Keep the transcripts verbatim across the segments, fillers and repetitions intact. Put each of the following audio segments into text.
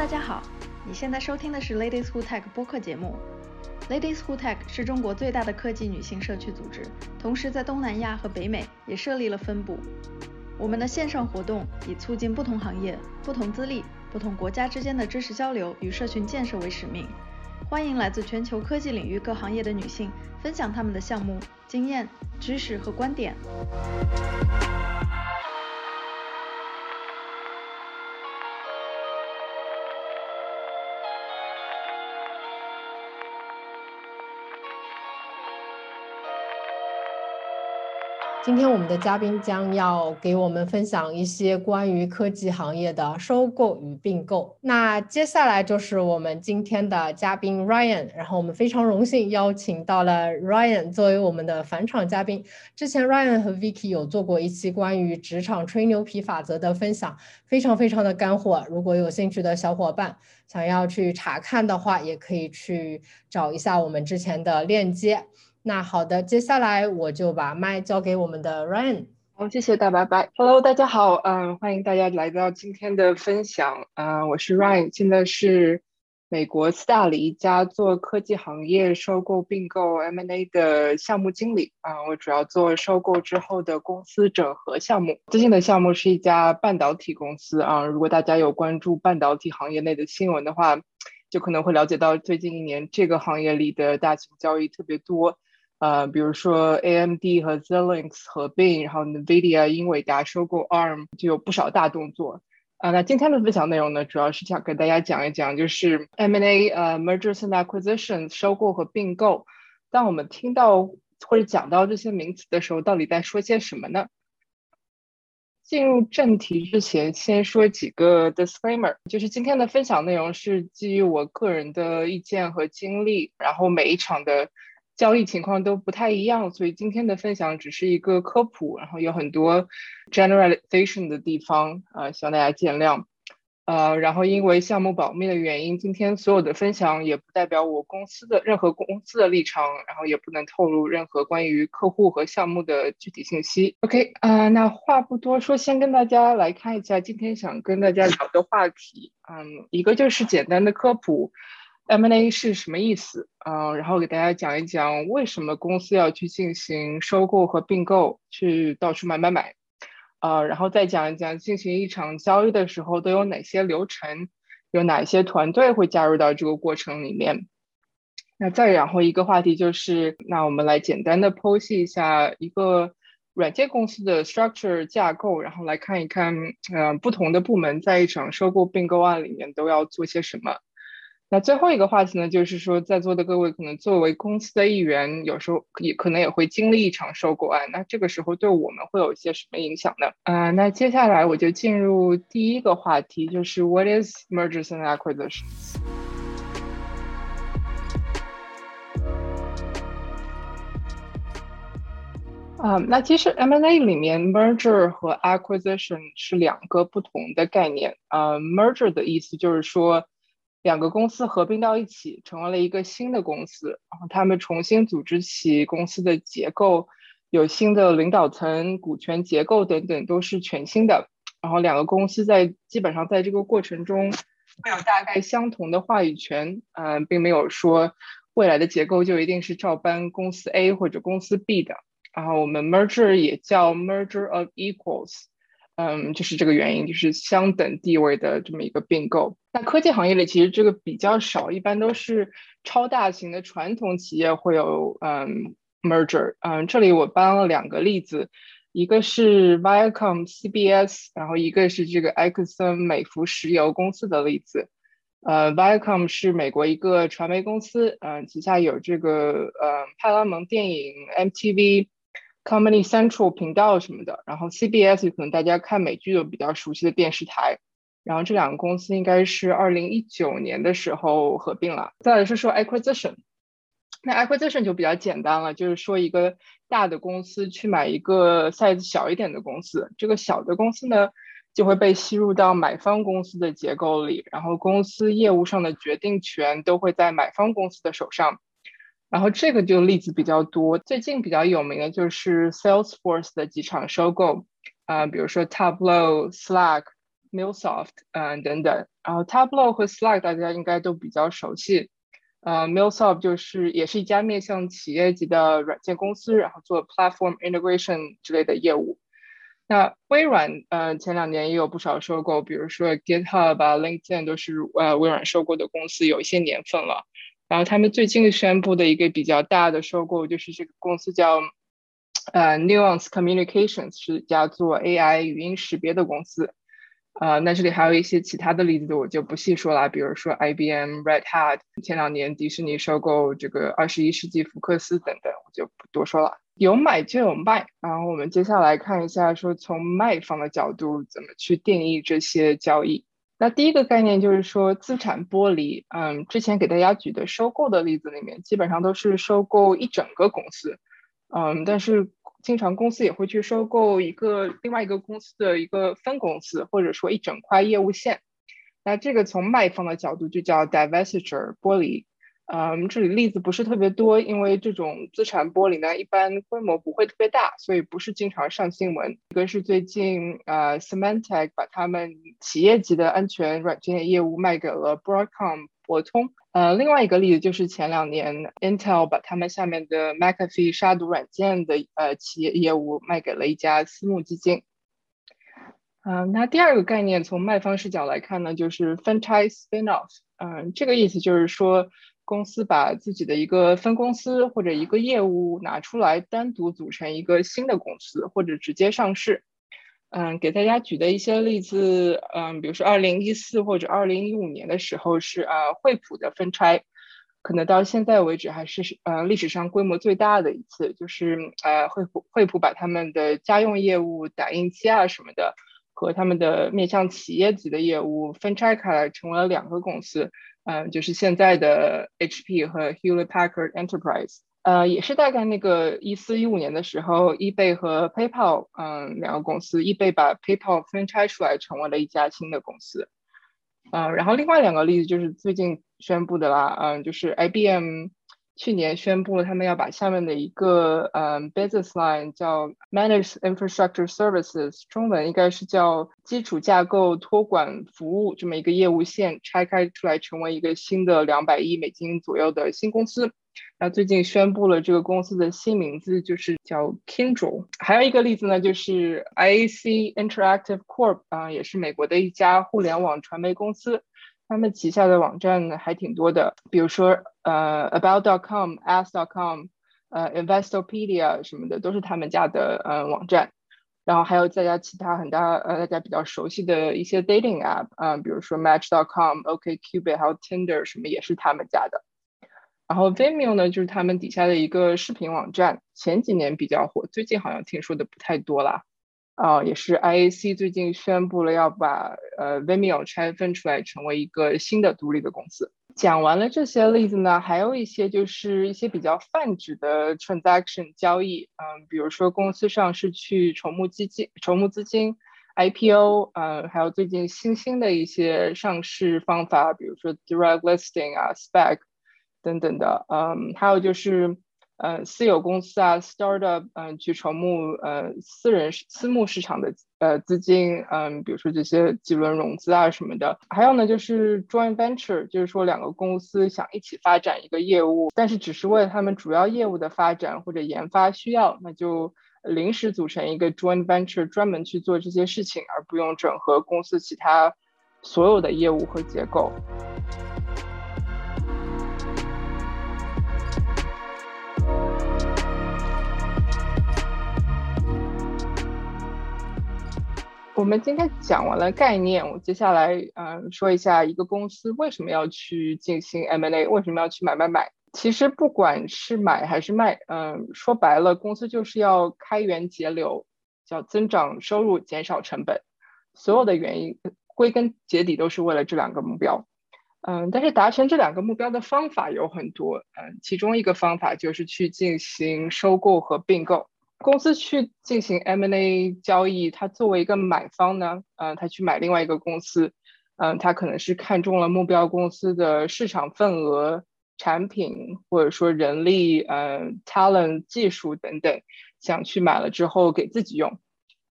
家好，你现在收听的是 Ladies Who Tech 播客节目。Ladies Who Tech 是中国最大的科技女性社区组织，同时在东南亚和北美也设立了分部。我们的线上活动以促进不同行业、不同资历、不同国家之间的知识交流与社群建设为使命。欢迎来自全球科技领域各行业的女性分享她们的项目、经验、知识和观点。 今天我们的嘉宾将要给我们分享一些关于科技行业的收购与并购。那接下来就是我们今天的嘉宾 Ryan， 然后我们非常荣幸邀请到了 Ryan 作为我们的返场嘉宾。之前 Ryan 和 Vicky 有做过一期关于职场吹牛皮法则的分享，非常非常的干货。如果有兴趣的小伙伴想要去查看的话，也可以去找一下我们之前的链接。那好的，接下来我就把麦交给我们的 Ryan。 好，谢谢大白白。Hello， 大家好，嗯，欢迎大家来到今天的分享。嗯，我是 Ryan， 现在是美国斯大里一家做科技行业收购并购 M and A 的项目经理。啊、嗯，我主要做收购之后的公司整合项目。最近的项目是一家半导体公司啊、嗯，如果大家有关注半导体行业内的新闻的话，就可能会了解到最近一年这个行业里的大型交易特别多。呃，比如说 A M D 和 Xilinx 合并，然后 NVIDIA 英伟达收购 A R M， 就有不少大动作。啊、呃，那今天的分享内容呢，主要是想跟大家讲一讲，就是 M and A 呃 Mergers and Acquisitions 收购和并购。当我们听到或者讲到这些名词的时候，到底在说些什么呢？进入正题之前，先说几个 disclaimer， 就是今天的分享内容是基于我个人的意见和经历，然后每一场的交易情况都不太一样，所以今天的分享只是一个科普，然后有很多 generalization 的地方，呃，希望大家见谅。呃，然后因为项目保密的原因，今天所有的分享也不代表我公司的任何公司的立场，然后也不能透露任何关于客户和项目的具体信息。OK， 啊、呃，那话不多说，先跟大家来看一下今天想跟大家聊的话题。嗯，一个就是简单的科普。M and A 是什么意思？呃，然后给大家讲一讲为什么公司要去进行收购和并购，去到处买买买，呃，然后再讲一讲进行一场交易的时候都有哪些流程，有哪些团队会加入到这个过程里面。那再然后一个话题就是，那我们来简单的剖析一下一个软件公司的 structure 架构，然后来看一看，呃，不同的部门在一场收购并购案里面都要做些什么。那最后一个话题呢，就是说在座的各位可能作为公司的一员，有时候也可能也会经历一场收购案，那这个时候对我们会有一些什么影响呢？呃，那接下来我就进入第一个话题，就是 What is mergers and acquisitions？ 啊、呃，那其实 M and A 里面 merger 和 acquisition 是两个不同的概念。呃 merger 的意思就是说两个公司合并到一起，成为了一个新的公司，然后他们重新组织起公司的结构，有新的领导层、股权结构等等，都是全新的。然后两个公司在基本上在这个过程中会有大概相同的话语权，嗯、呃，并没有说未来的结构就一定是照搬公司 A 或者公司 B 的。然后我们 merger 也叫 merger of equals。嗯，就是这个原因，就是相等地位的这么一个并购。那科技行业里其实这个比较少，一般都是超大型的传统企业会有嗯 merger。嗯，这里我搬了两个例子，一个是 Viacom C B S， 然后一个是这个埃克森美孚石油公司的例子。呃 ，Viacom 是美国一个传媒公司，嗯、呃，旗下有这个呃派拉蒙电影、M T V。Comedy Central 频道什么的，然后 C B S 可能大家看美剧有比较熟悉的电视台，然后这两个公司应该是二零一九年的时候合并了。再来是说 acquisition， 那 acquisition 就比较简单了，就是说一个大的公司去买一个 size 小一点的公司，这个小的公司呢就会被吸入到买方公司的结构里，然后公司业务上的决定权都会在买方公司的手上。然后这个就例子比较多，最近比较有名的就是 Salesforce 的几场收购，啊、呃，比如说 Tableau、Slack， MuleSoft 嗯、呃、等等。然后 Tableau 和 Slack 大家应该都比较熟悉。呃 MuleSoft 就是也是一家面向企业级的软件公司，然后做 platform integration 之类的业务。那微软呃前两年也有不少收购，比如说 GitHub 啊 LinkedIn 都是呃微软收购的公司，有一些年份了。然后他们最近宣布的一个比较大的收购就是这个公司叫呃 Nuance Communications， 是一家做 A I 语音识别的公司。呃，那这里还有一些其他的例子，我就不细说了，比如说 I B M、Red Hat， 前两年迪士尼收购这个二十一世纪福克斯等等，我就不多说了。有买就有卖，然后我们接下来看一下，说从卖方的角度怎么去定义这些交易。那第一个概念就是说资产剥离，嗯，之前给大家举的收购的例子里面，基本上都是收购一整个公司，嗯，但是经常公司也会去收购一个另外一个公司的一个分公司，或者说一整块业务线。那这个从卖方的角度就叫 divestiture 剥离。嗯，这里例子不是特别多，因为这种资产剥离呢，一般规模不会特别大，所以不是经常上新闻。一个是最近呃 Symantec 把他们企业级的安全软件业务卖给了 Broadcom 博通。呃，另外一个例子就是前两年 Intel 把他们下面的 McAfee 杀毒软件的呃企业业务卖给了一家私募基金。嗯、呃，那第二个概念从卖方视角来看呢，就是 franchise spin-off。嗯、呃，这个意思就是说，公司把自己的一个分公司或者一个业务拿出来，单独组成一个新的公司，或者直接上市。嗯，给大家举的一些例子，嗯，比如说二零一四或者二零一五年的时候是呃惠普的分拆，可能到现在为止还是呃历史上规模最大的一次，就是呃惠普惠普把他们的家用业务、打印机啊什么的，和他们的面向企业级的业务分拆开来，成为了两个公司，嗯、呃，就是现在的 H P 和 Hewlett Packard Enterprise。呃，也是大概那个一四一五年的时候 ，eBay 和 PayPal， 嗯，两个公司 ，eBay 把 PayPal 分拆出来，成为了一家新的公司。呃，然后另外两个例子就是最近宣布的啦，嗯，就是 I B M 去年宣布了他们要把下面的一个嗯 business line 叫 Managed Infrastructure Services， 中文应该是叫基础架构托管服务这么一个业务线拆开出来，成为一个新的两百亿美金左右的新公司。那最近宣布了这个公司的新名字，就是叫 Kyndryl。还有一个例子呢，就是 I A C Interactive Corp 啊、呃，也是美国的一家互联网传媒公司，他们旗下的网站还挺多的，比如说呃 about dot com、ask dot com、呃 Investopedia 什么的，都是他们家的呃网站。然后还有大家其他很大呃大家比较熟悉的一些 dating app 啊、呃，比如说 match dot com、OkCupid 还有 Tinder 什么也是他们家的。然后 Vimeo 呢，就是他们底下的一个视频网站，前几年比较火，最近好像听说的不太多啦。啊、呃，也是 I A C 最近宣布了要把呃 Vimeo 拆分出来，成为一个新的独立的公司。讲完了这些例子呢，还有一些就是一些比较泛指的 transaction 交易，嗯，比如说公司上市去筹募基金、筹募资金。I P O， 呃，还有最近新兴的一些上市方法，比如说 direct listing 啊、S P A C 等等的，嗯，还有就是呃私有公司啊 startup， 嗯、呃，去筹募呃私人私募市场的呃资金，嗯，比如说这些几轮融资啊什么的。还有呢就是 joint venture， 就是说两个公司想一起发展一个业务，但是只是为了他们主要业务的发展或者研发需要，那就临时组成一个 joint venture， 专门去做这些事情，而不用整合公司其他所有的业务和结构。我们今天讲完了概念，我接下来嗯、呃、说一下一个公司为什么要去进行 M and A， 为什么要去买买买。其实不管是买还是卖，嗯、呃，说白了，公司就是要开源节流，叫增长收入，减少成本。所有的原因归根结底都是为了这两个目标。嗯、呃，但是达成这两个目标的方法有很多，嗯、呃，其中一个方法就是去进行收购和并购。公司去进行 M and A 交易，它作为一个买方呢，呃，他去买另外一个公司，嗯、呃，他可能是看中了目标公司的市场份额、产品或者说人力、呃 talent、技术等等，想去买了之后给自己用。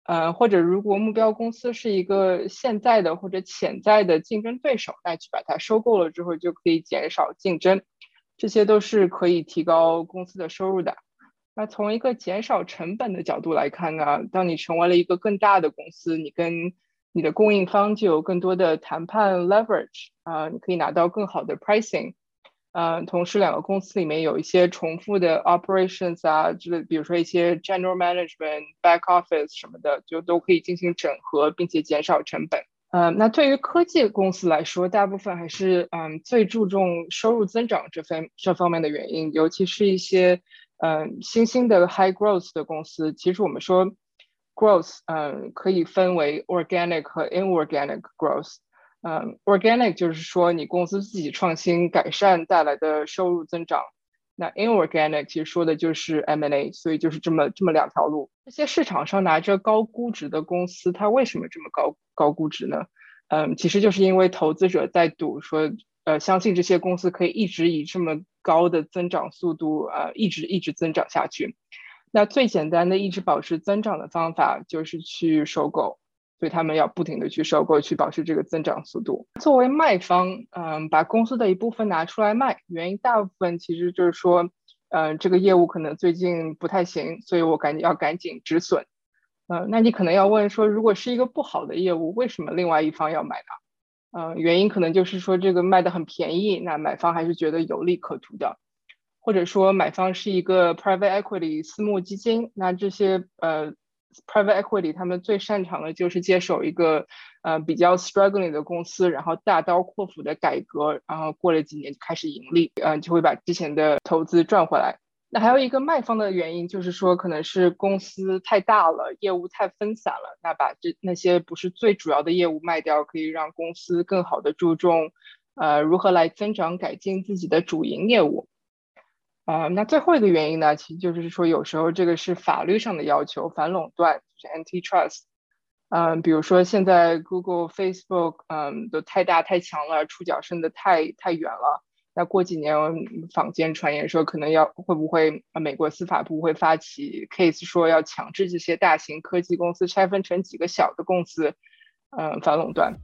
呃，或者如果目标公司是一个现在的或者潜在的竞争对手，那去把它收购了之后就可以减少竞争，这些都是可以提高公司的收入的。那从一个减少成本的角度来看呢，当你成为了一个更大的公司，你跟你的供应方就有更多的谈判 leverage， 啊、呃，你可以拿到更好的 pricing。呃，同时两个公司里面有一些重复的 operations 啊，之类，比如说一些 general management、back office 什么的，就都可以进行整合，并且减少成本。呃，那对于科技公司来说，大部分还是嗯最注重收入增长这方这方面的原因，尤其是一些嗯新兴的 high growth 的公司。其实我们说 growth， 嗯可以分为 organic 和 inorganic growth。嗯 ，organic 就是说你公司自己创新改善带来的收入增长。那 inorganic 其实说的就是 M and A， 所以就是这么这么两条路。这些市场上拿着高估值的公司，它为什么这么高高估值呢？嗯，其实就是因为投资者在赌说，呃，相信这些公司可以一直以这么高的增长速度，呃，一直一直增长下去。那最简单的一直保持增长的方法就是去收购。所以他们要不停的去收购，去保持这个增长速度。作为卖方，嗯，把公司的一部分拿出来卖，原因大部分其实就是说，呃，这个业务可能最近不太行，所以我赶紧要赶紧止损。呃，那你可能要问说，如果是一个不好的业务，为什么另外一方要买呢？呃，原因可能就是说这个卖的很便宜，那买方还是觉得有利可图的。或者说买方是一个 private equity 私募基金，那这些呃private equity 他们最擅长的就是接手一个呃比较 struggling 的公司，然后大刀阔斧的改革，然后过了几年就开始盈利，嗯、呃，就会把之前的投资赚回来。那还有一个卖方的原因就是说，可能是公司太大了，业务太分散了，那把这那些不是最主要的业务卖掉，可以让公司更好的注重呃如何来增长改进自己的主营业务。呃，那最后一个原因呢，其实就是说，有时候这个是法律上的要求，反垄断就是 antitrust。嗯，比如说现在 Google、Facebook， 嗯，都太大太强了，触角伸得太太远了。那过几年坊间传言说，可能要会不会美国司法部会发起 case 说要强制这些大型科技公司拆分成几个小的公司，嗯，反垄断。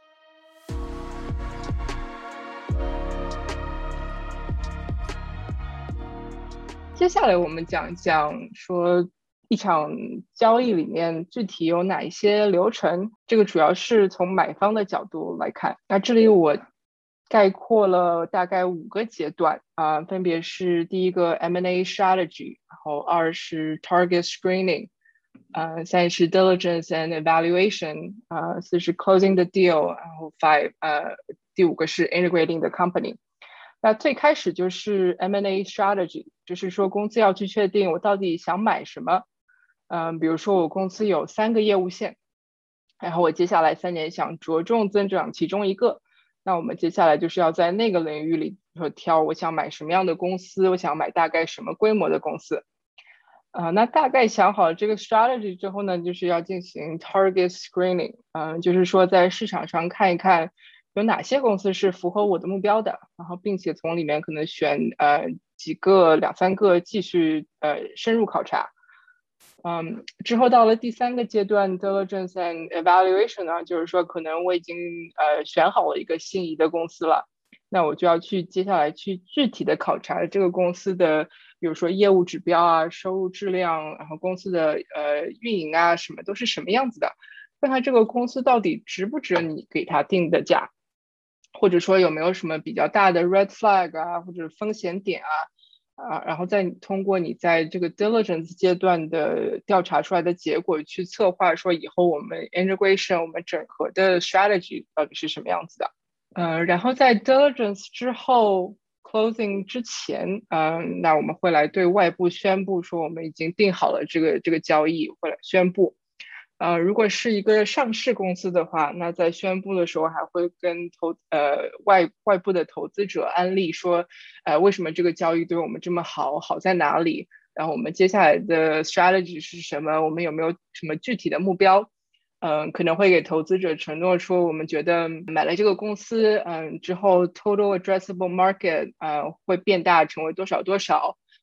接下来我们讲一讲说一场交易里面具体有哪一些流程，这个主要是从买方的角度来看。那这里我概括了大概五个阶段啊、呃，分别是第一个 M and A strategy， 然后二是 target screening， 呃，三是 diligence and evaluation， 呃，四是 closing the deal， 然后 five 呃，第五个是 integrating the company。那最开始就是 M and A strategy， 就是说公司要去确定我到底想买什么。嗯，比如说我公司有三个业务线，然后我接下来三年想着重增长其中一个，那我们接下来就是要在那个领域里说挑我想买什么样的公司，我想买大概什么规模的公司。呃，那大概想好了这个 strategy 之后呢，就是要进行 target screening， 嗯、呃，就是说在市场上看一看有哪些公司是符合我的目标的，然后并且从里面可能选呃几个两三个继续呃深入考察。嗯，之后到了第三个阶段 diligence and evaluation 呢，就是说可能我已经呃选好了一个心仪的公司了，那我就要去接下来去具体的考察这个公司的，比如说业务指标啊、收入质量，然后公司的呃运营啊什么都是什么样子的，看看这个公司到底值不值你给它定的价。或者说有没有什么比较大的 red flag 啊，或者风险点啊，啊，然后再通过你在这个 diligence 阶段的调查出来的结果去策划说以后我们 integration 我们整合的 strategy 到底是什么样子的。呃，然后在 diligence 之后 closing 之前，嗯、呃，那我们会来对外部宣布说我们已经定好了这个这个交易，会来宣布。呃，如果是一个上市公司的话，那在宣布的时候还会跟投呃外外部的投资者安利说，呃，为什么这个交易对我们这么好，好在哪里？然后我们接下来的 strategy 是什么？我们有没有什么具体的目标？嗯、呃，可能会给投资者承诺说，我们觉得买了这个公司，嗯、呃，之后 total addressable market 呃会变大，成为多少多少。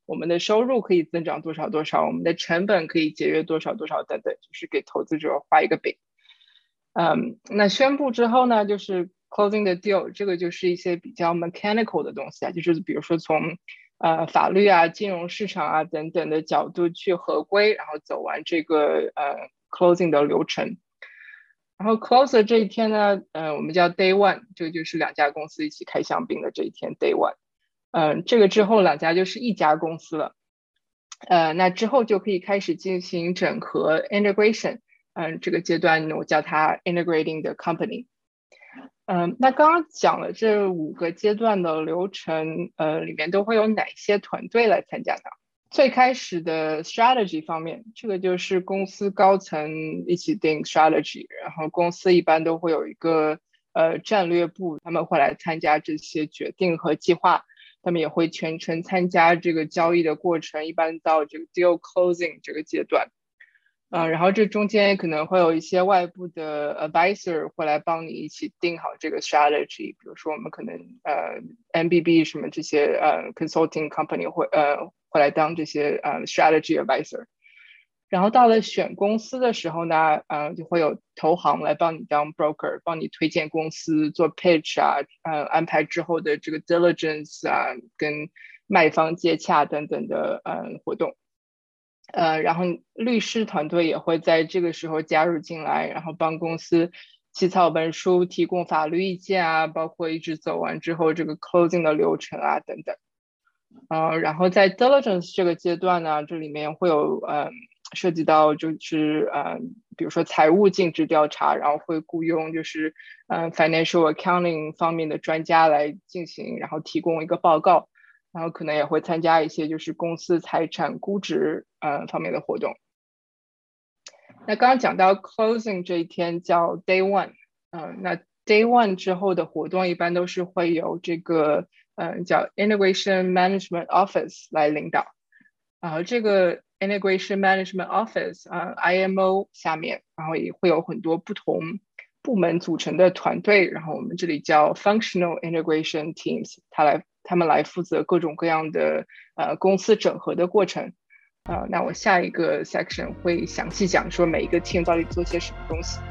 我们的收入可以增长多少多少，我们的成本可以节约多少多少等等，就是给投资者画一个饼。嗯，那宣布之后呢，就是 closing the deal， 这个就是一些比较 mechanical 的东西啊，就是比如说从呃法律啊、金融市场啊等等的角度去合规，然后走完这个呃 closing 的流程。然后 close 这一天呢，呃，我们叫 day one， 这个就是两家公司一起开香槟的这一天 day one。嗯、呃，这个之后两家就是一家公司了。呃，那之后就可以开始进行整合 integration。嗯，这个阶段我叫它 integrating the company。嗯，那刚刚讲了这五个阶段的流程，呃，里面都会有哪些团队来参加呢？最开始的 strategy 方面，这个就是公司高层一起定 strategy， 然后公司一般都会有一个呃战略部，他们会来参加这些决定和计划，他们也会全程参加这个交易的过程，一般到这个 deal closing 这个阶段。呃，然后这中间可能会有一些外部的 advisor 会来帮你一起定好这个 strategy， 比如说我们可能呃 M B B 什么这些呃 consulting company 会呃会来当这些呃 strategy advisor。然后到了选公司的时候呢，呃就会有投行来帮你当 broker， 帮你推荐公司，做 pitch 啊，呃安排之后的这个 diligence 啊，跟卖方接洽等等的呃活动。呃，然后律师团队也会在这个时候加入进来，然后帮公司起草文书、提供法律意见啊，包括一直走完之后这个 closing 的流程啊等等。呃，然后在 diligence 这个阶段呢，这里面会有呃涉及到就是呃，比如说财务尽职调查，然后会雇佣就是呃 financial accounting 方面的专家来进行，然后提供一个报告。然后可能也会参加一些就是公司财产估值呃方面的活动。那刚刚讲到 closing 这一天叫 day one， 嗯、呃，那 day one 之后的活动一般都是会有这个呃叫 integration management office 来领导。然后这个 integration management office 啊、呃、I M O 下面，然后也会有很多不同部门组成的团队，然后我们这里叫 functional integration teams， 它来他们来负责各种各样的呃公司整合的过程。呃，那我下一个 section 会详细讲说每一个 team 到底做些什么东西。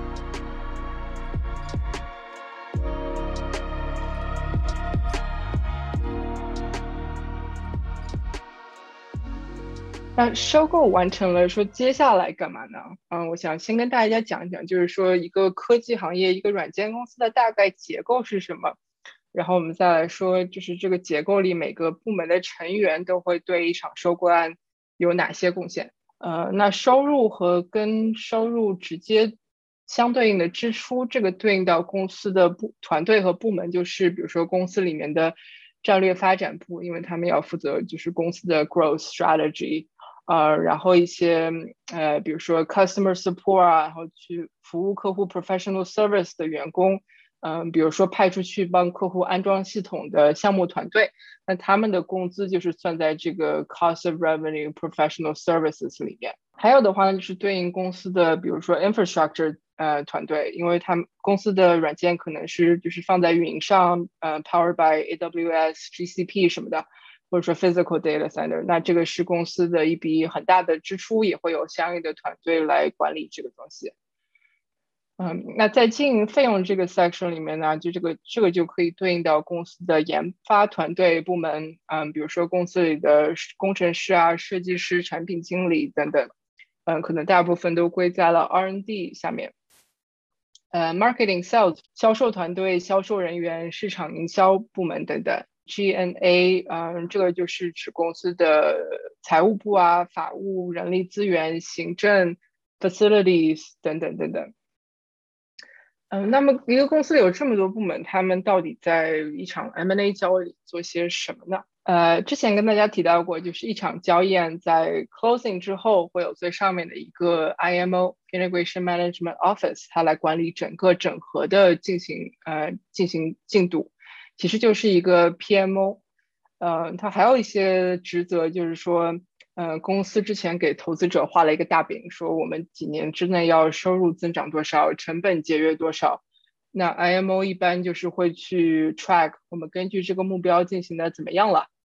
那收购完成了，说接下来干嘛呢？嗯，我想先跟大家讲一讲，就是说一个科技行业、一个软件公司的大概结构是什么。然后我们再来说，就是这个结构里每个部门的成员都会对一场收购案有哪些贡献。呃，那收入和跟收入直接相对应的支出，这个对应到公司的部团队和部门，就是比如说公司里面的战略发展部，因为他们要负责就是公司的 growth strategy。呃，然后一些呃，比如说 customer support 啊，然后去服务客户 professional service 的员工，嗯、呃，比如说派出去帮客户安装系统的项目团队，那他们的工资就是算在这个 cost of revenue professional services 里面。还有的话呢，就是对应公司的，比如说 infrastructure 呃团队，因为他们公司的软件可能是就是放在云上，呃 ，powered by A W S、G C P 什么的。或者说 physical data center， 那这个是公司的一笔很大的支出，也会有相应的团队来管理这个东西。嗯，那在经营费用这个 section 里面呢，就这个这个就可以对应到公司的研发团队部门，嗯，比如说公司里的工程师啊、设计师、产品经理等等，嗯，可能大部分都归在了 R and D 下面。呃 ，marketing sales 销售团队、销售人员、市场营销部门等等。G N A， 嗯，这个就是指公司的财务部啊、法务、人力资源、行政、facilities 等等等等。嗯，那么一个公司有这么多部门，他们到底在一场 M and A 交易里做些什么呢？呃，之前跟大家提到过，就是一场交易案在 closing 之后，会有最上面的一个 I M O Integration Management Office， 它来管理整个整合的进行呃进行进度。其实就是一个 P M O， 呃，它还有一些职责，就是说，呃，公司之前给投资者画了一个大饼，说我们几年之内要收入增长多少，成本节约多少。那 I M O 一般就是会去 track 我们根据这个目标进行的怎么样了，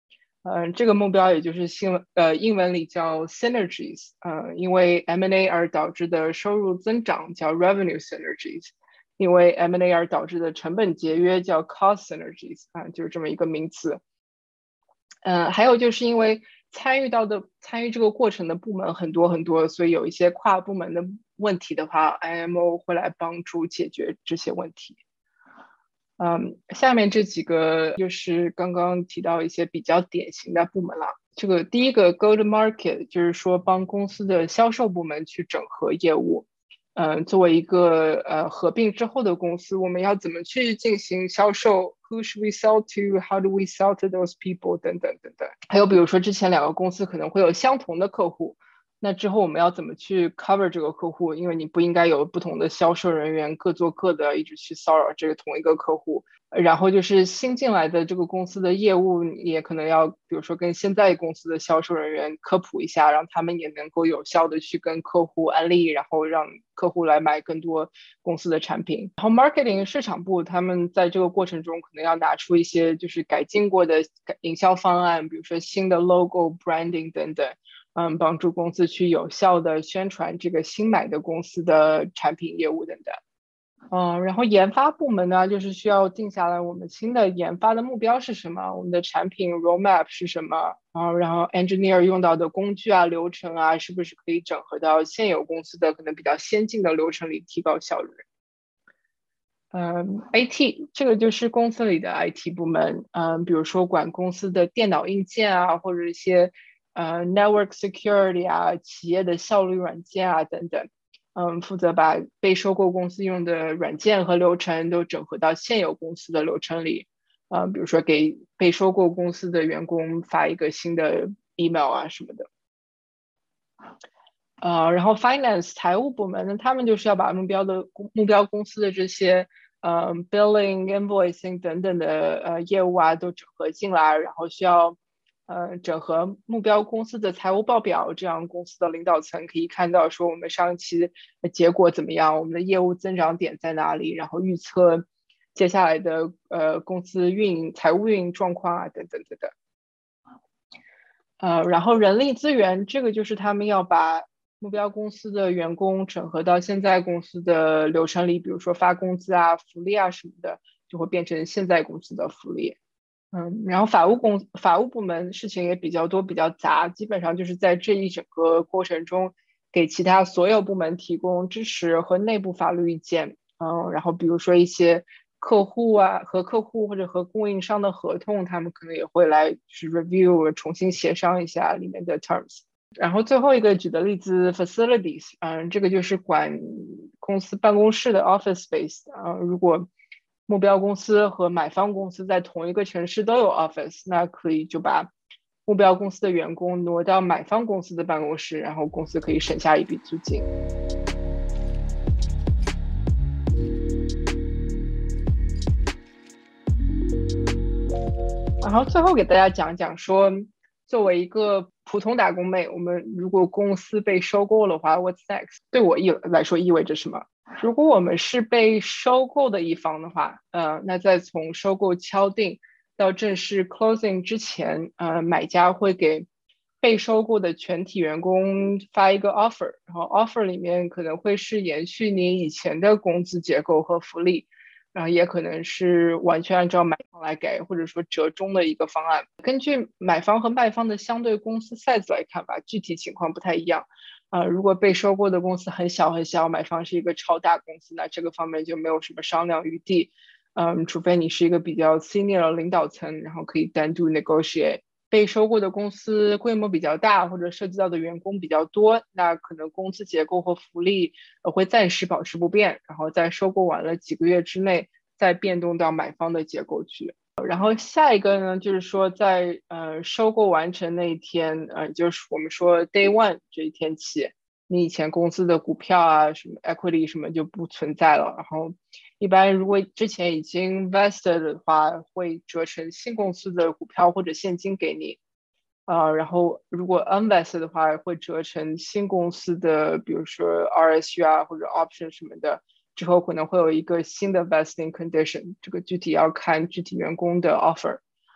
呃，这个目标也就是新呃英文里叫 synergies， 呃，因为 M and A 而导致的收入增长叫 revenue synergies， 因为 M and A 而导致的成本节约叫 cost synergies， 啊、呃，就是这么一个名词。呃，还有就是因为参与到的参与这个过程的部门很多很多，所以有一些跨部门的问题的话 ，I M O 会来帮助解决这些问题。嗯，下面这几个就是刚刚提到一些比较典型的部门了。这个第一个 Go to Market 就是说帮公司的销售部门去整合业务。嗯，作为一个呃合并之后的公司，我们要怎么去进行销售 ？Who should we sell to? How do we sell to those people? 等等等等。还有比如说之前两个公司可能会有相同的客户。那之后我们要怎么去 cover 这个客户？因为你不应该有不同的销售人员各做各的，一直去骚扰这个同一个客户。然后就是新进来的这个公司的业务，也可能要比如说跟现在公司的销售人员科普一下，让他们也能够有效的去跟客户安利，然后让客户来买更多公司的产品。然后 marketing 市场部他们在这个过程中可能要拿出一些就是改进过的营销方案，比如说新的 logo branding 等等。嗯，帮助公司去有效的宣传这个新买的公司的产品业务等等。嗯，然后研发部门呢，就是需要定下来我们新的研发的目标是什么，我们的产品 roadmap 是什么，啊，然后 engineer 用到的工具啊、流程啊，是不是可以整合到现有公司的可能比较先进的流程里，提高效率。嗯 ，I T 这个就是公司里的 I T 部门，嗯，比如说管公司的电脑硬件啊，或者一些呃 network security 啊，企业的效率软件啊等等，嗯，负责把被收购公司用的软件和流程都整合到现有公司的流程里，嗯，比如说给被收购公司的员工发一个新的 email 啊什么的。呃，然后 finance 财务部门呢，他们就是要把目标的目标公司的这些呃 billing invoicing 等等的呃业务啊都整合进来，然后需要呃整合目标公司的财务报表，这样公司的领导层可以看到说我们上期的结果怎么样，我们的业务增长点在哪里，然后预测接下来的呃公司运营财务运营状况啊等等等等。呃，然后人力资源这个就是他们要把目标公司的员工整合到现在公司的流程里，比如说发工资啊、福利啊什么的，就会变成现在公司的福利。嗯，然后法务公法务部门事情也比较多、比较杂，基本上就是在这一整个过程中，给其他所有部门提供支持和内部法律意见。嗯，然后比如说一些客户啊和客户或者和供应商的合同，他们可能也会来就是 review 重新协商一下里面的 terms。然后最后一个举的例子 facilities， 嗯，这个就是管公司办公室的 office space， 啊，如果目标公司和买方公司在同一个城市都有 office， 那可以就把目标公司的员工挪到买方公司的办公室，然后公司可以省下一笔租金。然后最后给大家讲讲说，作为一个普通打工妹，我们如果公司被收购的话 ，What's next？ 对我意来说意味着什么？如果我们是被收购的一方的话，呃，那在从收购敲定到正式 closing 之前，呃，买家会给被收购的全体员工发一个 offer， 然后 offer 里面可能会是延续你以前的工资结构和福利。然后也可能是完全按照买方来给，或者说折中的一个方案。根据买方和卖方的相对公司 size 来看吧，具体情况不太一样。呃，如果被收购的公司很小很小，买方是一个超大公司，那这个方面就没有什么商量余地。嗯，除非你是一个比较 senior 的领导层，然后可以单独 negotiate。被收购的公司规模比较大，或者涉及到的员工比较多，那可能工资结构和福利会暂时保持不变，然后在收购完了几个月之内再变动到买方的结构去。然后下一个呢，就是说在呃收购完成那一天，呃，就是我们说 day one 这一天起，你以前公司的股票啊、什么 equity 什么就不存在了。然后一般如果之前已经 vested 的话，会折成新公司的股票或者现金给你。呃，然后如果 unvested 的话，会折成新公司的，比如说 R S U 啊或者 option 什么的。之后可能会有一个新的 vesting condition， 这个具体要看具体员工的 offer。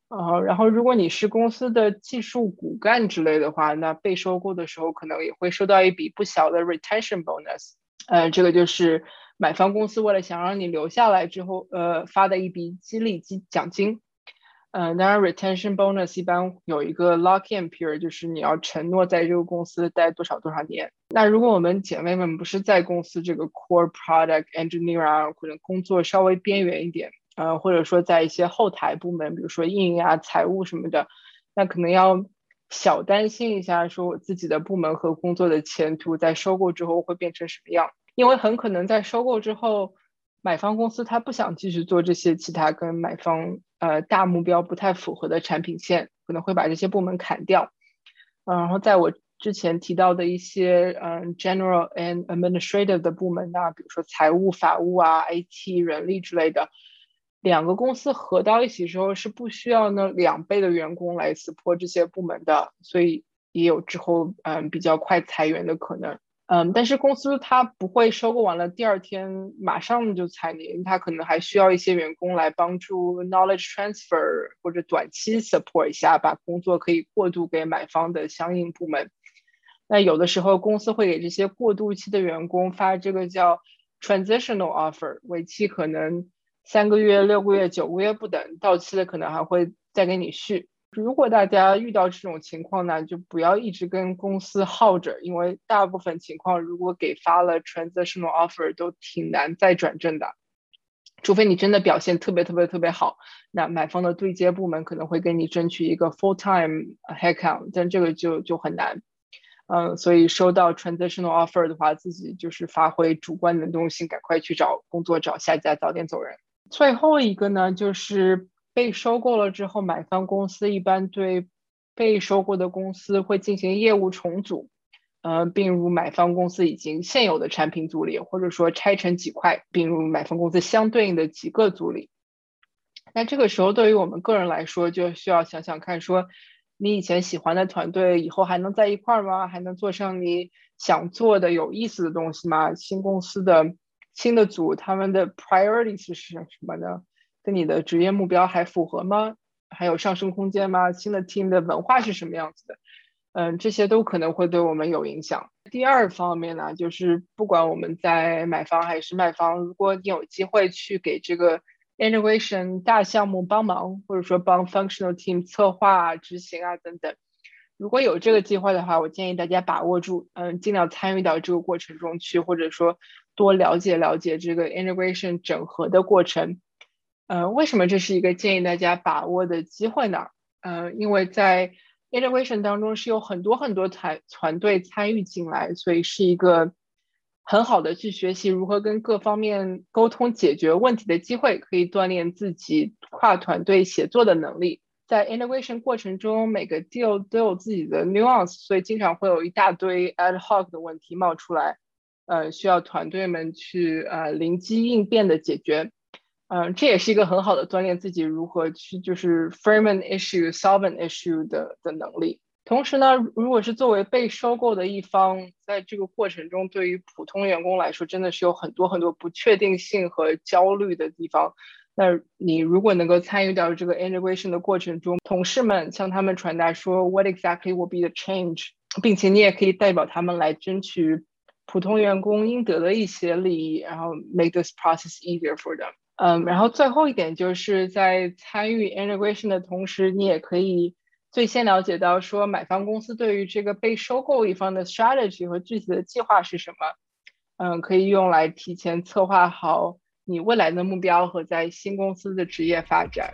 呃，然后如果你是公司的技术骨干之类的话，那被收购的时候可能也会收到一笔不小的 retention bonus。呃，这个就是买方公司为了想让你留下来之后，呃，发的一笔激励金奖金。呃，当然 retention bonus 一般有一个 lock-in period，就是你要承诺在这个公司待多少多少年。那如果我们姐妹们不是在公司这个 core product engineer 啊，可能工作稍微边缘一点，呃，或者说在一些后台部门，比如说运营啊、财务什么的，那可能要小担心一下，说我自己的部门和工作的前途在收购之后会变成什么样，因为很可能在收购之后，买方公司他不想继续做这些其他跟买方呃大目标不太符合的产品线，可能会把这些部门砍掉。呃、然后在我之前提到的一些嗯 general and administrative 的部门啊，比如说财务、法务啊、I T、人力之类的，两个公司合到一起之后是不需要呢两倍的员工来 support 这些部门的，所以也有之后嗯比较快裁员的可能。嗯，但是公司它不会收购完了第二天马上就裁你，它可能还需要一些员工来帮助 knowledge transfer 或者短期 support 一下，把工作可以过渡给买方的相应部门。那有的时候公司会给这些过渡期的员工发这个叫 transitional offer， 为期可能三个月、六个月、九个月不等，到期了可能还会再给你续。如果大家遇到这种情况呢，就不要一直跟公司耗着，因为大部分情况如果给发了 transitional offer 都挺难再转正的，除非你真的表现特别特别特别好，那买方的对接部门可能会给你争取一个 full time headcount， 但这个就就很难。嗯，所以收到 transitional offer 的话，自己就是发挥主观能动性，赶快去找工作，找下家，早点走人。最后一个呢，就是被收购了之后，买方公司一般对被收购的公司会进行业务重组，呃，并入买方公司已经现有的产品组里，或者说拆成几块，并入买方公司相对应的几个组里。那这个时候对于我们个人来说，就需要想想看说，你以前喜欢的团队以后还能在一块吗？还能做上你想做的有意思的东西吗？新公司的新的组他们的 priorities 是什么呢？跟你的职业目标还符合吗？还有上升空间吗？新的 team 的文化是什么样子的？嗯，这些都可能会对我们有影响。第二方面呢，就是不管我们在买方还是卖方，如果你有机会去给这个 integration 大项目帮忙，或者说帮 functional team 策划、执行啊等等，如果有这个计划的话，我建议大家把握住，嗯，尽量参与到这个过程中去，或者说多了解了解这个 integration 整合的过程。呃，为什么这是一个建议大家把握的机会呢？呃，因为在 integration 当中是有很多很多团团队参与进来，所以是一个很好的去学习如何跟各方面沟通解决问题的机会，可以锻炼自己跨团队协作的能力。在 integration 过程中，每个 deal 都有自己的 nuance， 所以经常会有一大堆 ad hoc 的问题冒出来，呃，需要团队们去呃灵机应变的解决。嗯、呃，这也是一个很好的锻炼自己如何去就是 frame an issue, solve an issue 的的能力。同时呢，如果是作为被收购的一方，在这个过程中，对于普通员工来说，真的是有很多很多不确定性和焦虑的地方。那你如果能够参与到这个 integration 的过程中，同事们向他们传达说 what exactly will be the change， 并且你也可以代表他们来争取普通员工应得的一些利益，然后 make this process easier for them。嗯，然后最后一点就是在参与 integration 的同时，你也可以最先了解到说买方公司对于这个被收购一方的 strategy 和具体的计划是什么。嗯，可以用来提前策划好你未来的目标和在新公司的职业发展。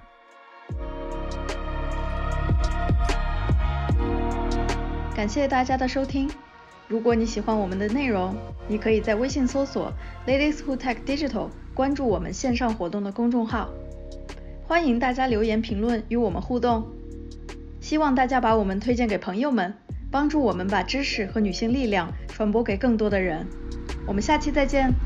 感谢大家的收听。如果你喜欢我们的内容，你可以在微信搜索 Ladies Who Tech Digital， 关注我们线上活动的公众号。欢迎大家留言评论与我们互动。希望大家把我们推荐给朋友们，帮助我们把知识和女性力量传播给更多的人。我们下期再见。